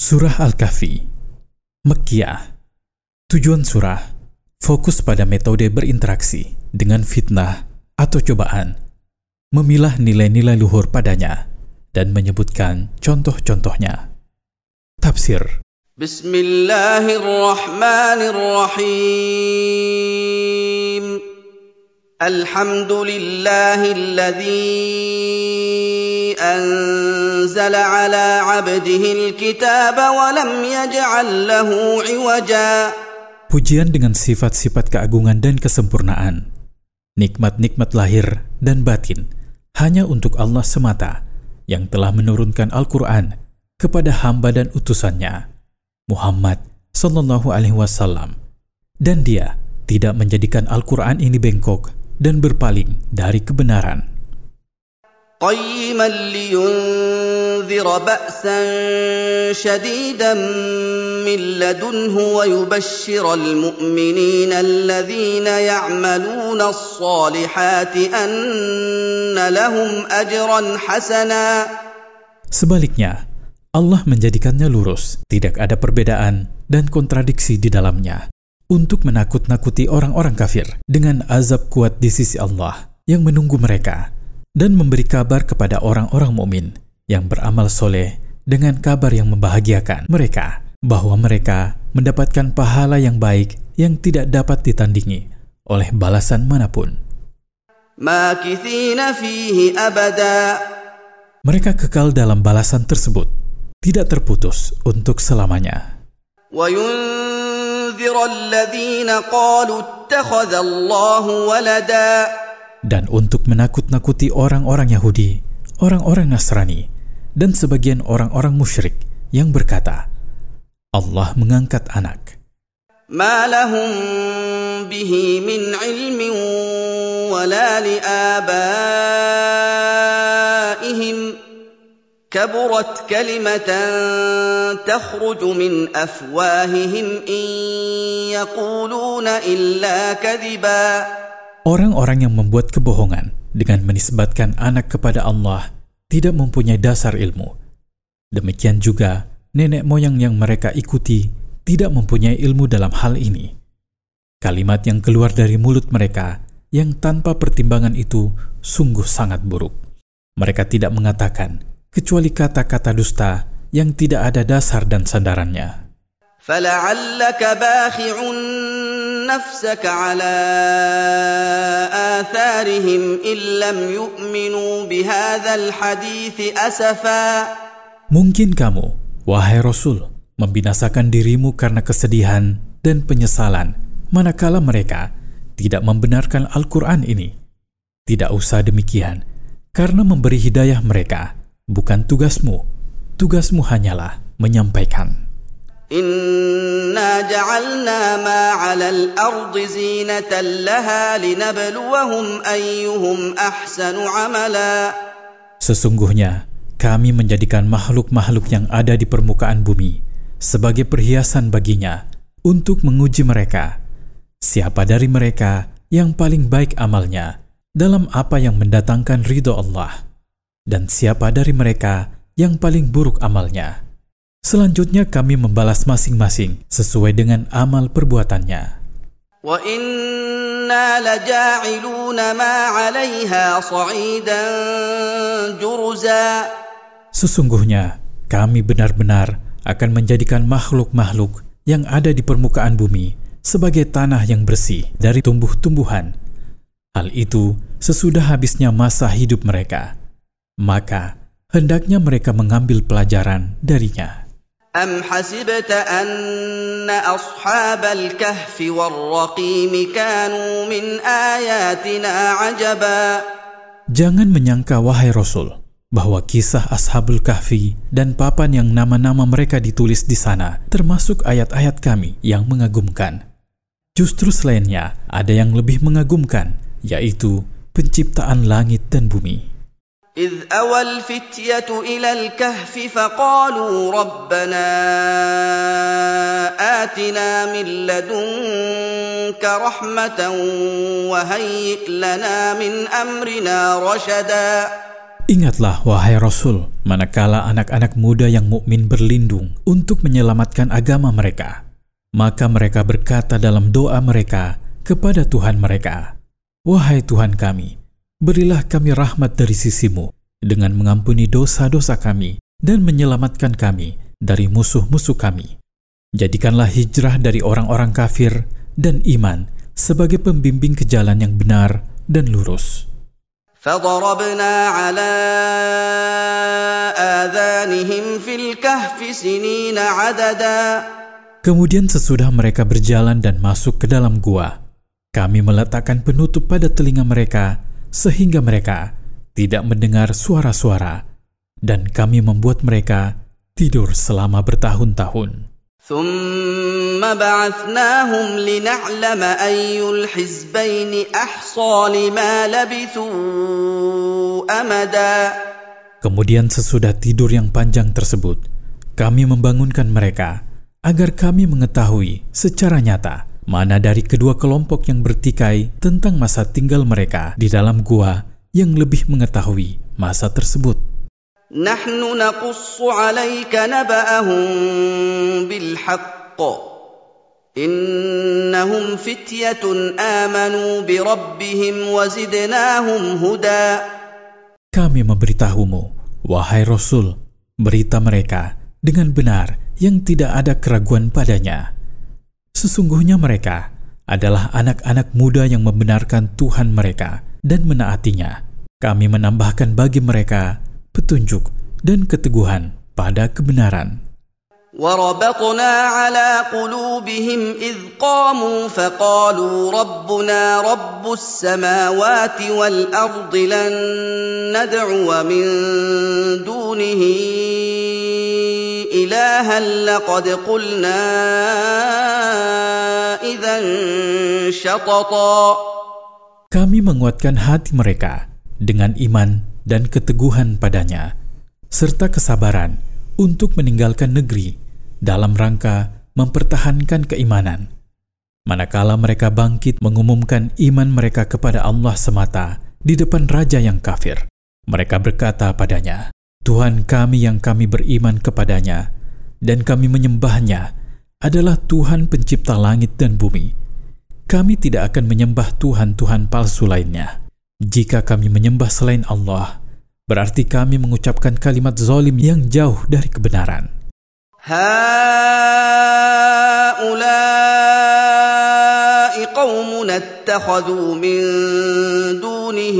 Surah Al-Kahfi, Makkiyah. Tujuan surah fokus pada metode berinteraksi dengan fitnah atau cobaan, memilah nilai-nilai luhur padanya, dan menyebutkan contoh-contohnya. Tafsir. Bismillahirrahmanirrahim. Alhamdulillahilladzi anzala ala 'abdihil kitaba wa lam yaj'al lahu 'iwaja. Pujian dengan sifat-sifat keagungan dan kesempurnaan, nikmat-nikmat lahir dan batin hanya untuk Allah semata yang telah menurunkan Al-Quran kepada hamba dan utusannya, Muhammad sallallahu alaihi wasallam, dan dia tidak menjadikan Al-Quran ini bengkok dan berpaling dari kebenaran. قيما لينذر بأسا شديدا من لدنه ويبشر المؤمنين الذين يعملون الصالحات أن لهم أجرا حسنا. Sebaliknya, Allah menjadikannya lurus, tidak ada perbedaan dan kontradiksi di dalamnya, untuk menakut-nakuti orang-orang kafir dengan azab kuat di sisi Allah yang menunggu mereka, dan memberi kabar kepada orang-orang mukmin yang beramal soleh dengan kabar yang membahagiakan mereka bahwa mereka mendapatkan pahala yang baik yang tidak dapat ditandingi oleh balasan manapun. Makithina fihi abada. Mereka kekal dalam balasan tersebut, tidak terputus untuk selamanya. Wa yunzira alladhina qalu ittakhadha Allahu walada. Dan untuk menakut-nakuti orang-orang Yahudi, orang-orang Nasrani, dan sebagian orang-orang musyrik yang berkata, Allah mengangkat anak. Ma lahum bihi min ilmin wala liabaihim kaburat kalimatan takhruju min afwahihim in yaquluna illa kadhiba. Orang-orang yang membuat kebohongan dengan menisbatkan anak kepada Allah tidak mempunyai dasar ilmu. Demikian juga nenek moyang yang mereka ikuti tidak mempunyai ilmu dalam hal ini. Kalimat yang keluar dari mulut mereka yang tanpa pertimbangan itu sungguh sangat buruk. Mereka tidak mengatakan kecuali kata-kata dusta yang tidak ada dasar dan sandarannya. فَلَعَلَّكَ بَاخِعٌ نَفْسَكَ عَلَىٰ آثَارِهِمْ إِن لَّمْ يُؤْمِنُوا بِهَٰذَا الْحَدِيثِ أَسَفًا. Mungkin kamu, wahai Rasul, membinasakan dirimu karena kesedihan dan penyesalan manakala mereka tidak membenarkan Al-Quran ini. Tidak usah demikian, karena memberi hidayah mereka bukan tugasmu. Tugasmu hanyalah menyampaikan. Inna ja'alna ma 'alal ardi zinatan laha linabluwahum ayyuhum ahsanu 'amala. Sesungguhnya kami menjadikan makhluk-makhluk yang ada di permukaan bumi sebagai perhiasan baginya untuk menguji mereka, siapa dari mereka yang paling baik amalnya dalam apa yang mendatangkan ridho Allah, dan siapa dari mereka yang paling buruk amalnya. Selanjutnya kami membalas masing-masing sesuai dengan amal perbuatannya. Wa inna laja'iluna ma 'alaiha sa'idan jurza. Sesungguhnya kami benar-benar akan menjadikan makhluk-makhluk yang ada di permukaan bumi sebagai tanah yang bersih dari tumbuh-tumbuhan. Hal itu sesudah habisnya masa hidup mereka. Maka hendaknya mereka mengambil pelajaran darinya. Am hasibta anna ashabal kahfi war-raqim kanu min ayatina ajaba. Jangan menyangka wahai Rasul bahwa kisah Ashabul Kahfi dan papan yang nama-nama mereka ditulis di sana termasuk ayat-ayat kami yang mengagumkan. Justru selainnya ada yang lebih mengagumkan, yaitu penciptaan langit dan bumi. إذ أوى الفتية إلى الكهف فقالوا ربنا آتنا من لدنك رحمة وهيئ لنا من أمرنا رشدا. Ingatlah, wahai Rasul, manakala anak-anak muda yang mukmin berlindung untuk menyelamatkan agama mereka, maka mereka berkata dalam doa mereka kepada Tuhan mereka, "Wahai Tuhan kami, berilah kami rahmat dari sisi-Mu dengan mengampuni dosa-dosa kami dan menyelamatkan kami dari musuh-musuh kami. Jadikanlah hijrah dari orang-orang kafir dan iman sebagai pembimbing ke jalan yang benar dan lurus." فَضَرَبْنَا عَلَىٰ آذَانِهِمْ فِي الْكَهْفِ سِنِينَ عَدَدًا. Kemudian sesudah mereka berjalan dan masuk ke dalam gua, kami meletakkan penutup pada telinga mereka sehingga mereka tidak mendengar suara-suara, dan kami membuat mereka tidur selama bertahun-tahun. ثُمَّ بَعَثْنَاهُمْ لِنَعْلَمَ أَيُّ الْحِزْبَيْنِ أَحْصَىٰ لِمَا لَبِثُوا أَمَدًا. Kemudian sesudah tidur yang panjang tersebut, kami membangunkan mereka agar kami mengetahui secara nyata mana dari kedua kelompok yang bertikai tentang masa tinggal mereka di dalam gua yang lebih mengetahui masa tersebut. نحن نقص عليك نبأهم بالحق إنهم فتية آمنوا بربهم وزدناهم هدى. Kami memberitahumu, wahai Rasul, berita mereka dengan benar yang tidak ada keraguan padanya. Sesungguhnya mereka adalah anak-anak muda yang membenarkan Tuhan mereka dan menaatinya. Kami menambahkan bagi mereka petunjuk dan keteguhan pada kebenaran. وَرَبَطْنَا عَلَىٰ قُلُوبِهِمْ إِذْ قَامُوا فَقَالُوا رَبُّنَا رَبُّ السَّمَاوَاتِ وَالْأَرْضِ لَن نَّدْعُوَ مِن دُونِهِ إِلَٰهًا لَّقَدْ قُلْنَا إِذًا شَطَطًا. Kami menguatkan hati mereka dengan iman dan keteguhan padanya, serta kesabaran untuk meninggalkan negeri dalam rangka mempertahankan keimanan. Manakala mereka bangkit mengumumkan iman mereka kepada Allah semata di depan raja yang kafir, mereka berkata padanya, "Tuhan kami yang kami beriman kepadanya dan kami menyembahnya adalah Tuhan pencipta langit dan bumi. Kami tidak akan menyembah Tuhan-Tuhan palsu lainnya. Jika kami menyembah selain Allah, berarti kami mengucapkan kalimat zalim yang jauh dari kebenaran." هَٰؤُلَاءِ قَوْمُنَا اتَّخَذُوا مِن دُونِهِ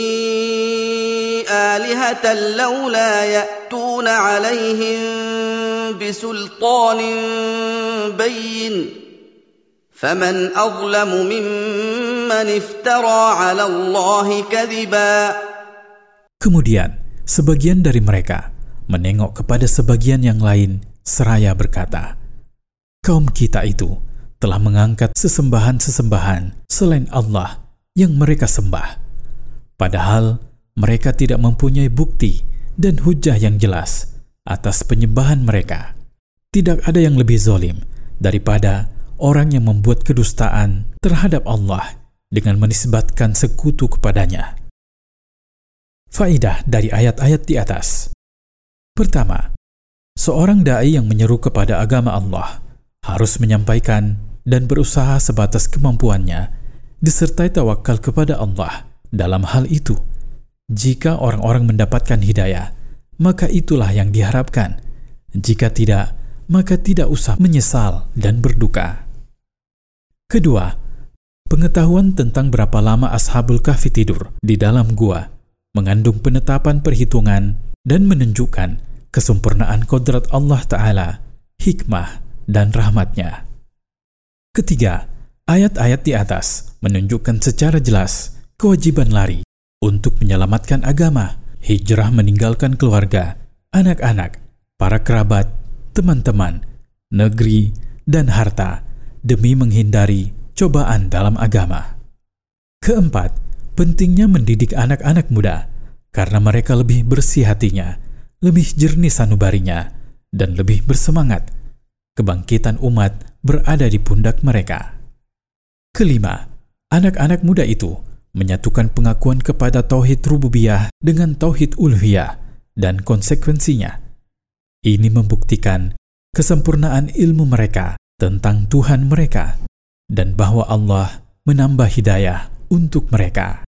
آلِهَةً لَّوْلَا يَأْتُونَ عَلَيْهِم بِسُلْطَانٍ بَيِّنٍ فَمَنْ أَظْلَمُ مِمَّنِ افْتَرَىٰ عَلَى اللَّهِ كَذِبًا. Kemudian sebagian dari mereka menengok kepada sebagian yang lain seraya berkata, "Kaum kita itu telah mengangkat sesembahan-sesembahan selain Allah yang mereka sembah, padahal mereka tidak mempunyai bukti dan hujah yang jelas atas penyembahan mereka. Tidak ada yang lebih zalim daripada orang yang membuat kedustaan terhadap Allah dengan menisbatkan sekutu kepadanya." Faidah dari ayat-ayat di atas. Pertama, seorang dai yang menyeru kepada agama Allah harus menyampaikan dan berusaha sebatas kemampuannya, disertai tawakal kepada Allah dalam hal itu. Jika orang-orang mendapatkan hidayah, maka itulah yang diharapkan. Jika tidak, maka tidak usah menyesal dan berduka. Kedua, pengetahuan tentang berapa lama Ashabul Kahfi tidur di dalam gua mengandung penetapan perhitungan dan menunjukkan kesempurnaan kodrat Allah Ta'ala, hikmah, dan rahmatnya. Ketiga, ayat-ayat di atas menunjukkan secara jelas kewajiban lari untuk menyelamatkan agama, hijrah meninggalkan keluarga, anak-anak, para kerabat, teman-teman, negeri, dan harta demi menghindari cobaan dalam agama. Keempat, pentingnya mendidik anak-anak muda karena mereka lebih bersih hatinya, lebih jernih sanubarinya, dan lebih bersemangat. Kebangkitan umat berada di pundak mereka. Kelima, anak-anak muda itu menyatukan pengakuan kepada tauhid rububiyah dengan tauhid uluhiyah dan konsekuensinya. Ini membuktikan kesempurnaan ilmu mereka tentang Tuhan mereka dan bahwa Allah menambah hidayah untuk mereka.